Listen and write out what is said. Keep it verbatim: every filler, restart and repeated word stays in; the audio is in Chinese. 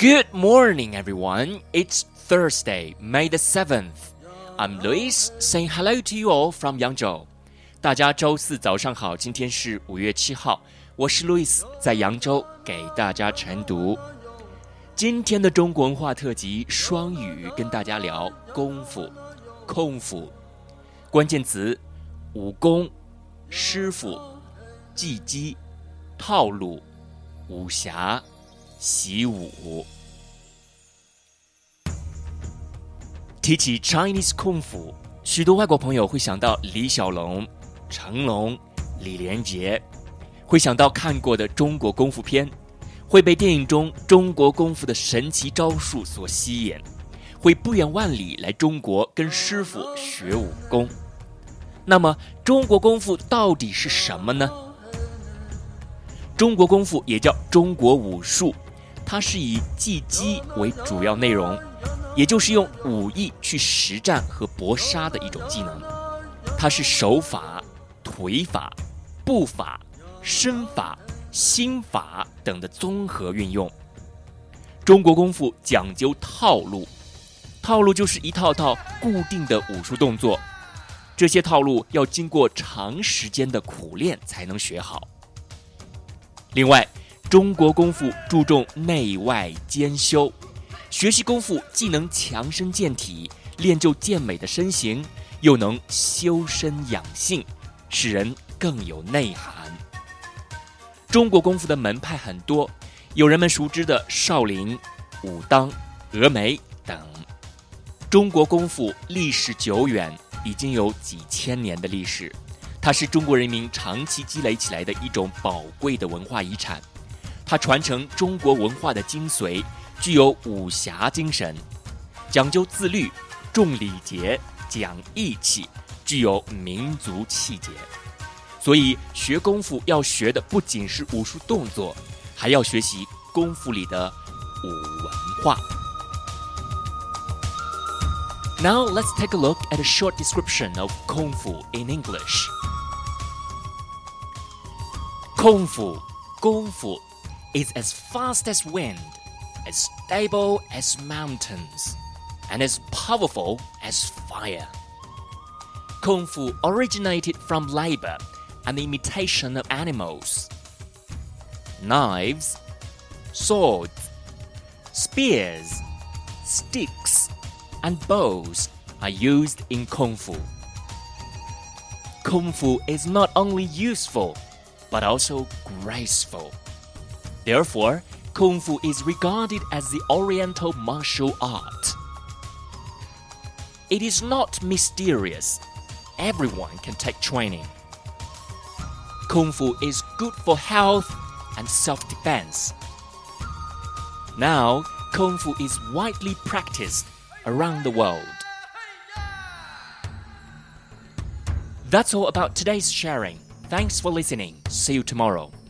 Good morning, everyone. It's Thursday, May the seventh. I'm Luis, saying hello to you all from Yangzhou. 大家周四早上好，今天是五月七号，我是 Luis， 在扬州给大家晨读。今天的中国文化特辑双语跟大家聊功夫、空腹，关键词武功、师傅、技击、套路、武侠、习武。提起 Chinese 功夫，许多外国朋友会想到李小龙、成龙、李连杰，会想到看过的中国功夫片，会被电影中中国功夫的神奇招数所吸引，会不远万里来中国跟师傅学武功。那么中国功夫到底是什么呢？中国功夫也叫中国武术，它是以技击为主要内容，也就是用武艺去实战和搏杀的一种技能。它是手法、腿法、步法、身法、心法等的综合运用。中国功夫讲究套路，套路就是一套套固定的武术动作，这些套路要经过长时间的苦练才能学好。另外，中国功夫注重内外兼修，学习功夫既能强身健体，练就健美的身形，又能修身养性，使人更有内涵。中国功夫的门派很多，有人们熟知的少林、武当、峨眉等。中国功夫历史久远，已经有几千年的历史，它是中国人民长期积累起来的一种宝贵的文化遗产。它传承中国文化的精髓，具有武侠精神，讲究自律、重礼节、讲义气，具有民族气节。所以学功夫要学的不仅是武术动作，还要学习功夫里的武文化。Now let's take a look at a short description of Kung Fu in English. Kung Fu, 功夫 is as fast as wind, as stable as mountains, and as powerful as fire. Kung Fu originated from labor and the imitation of animals. Knives, swords, spears, sticks, and bows are used in Kung Fu. Kung Fu is not only useful, but also graceful. Therefore, Kung Fu is regarded as the Oriental martial art. It is not mysterious. Everyone can take training. Kung Fu is good for health and self-defense. Now, Kung Fu is widely practiced around the world. That's all about today's sharing. Thanks for listening. See you tomorrow.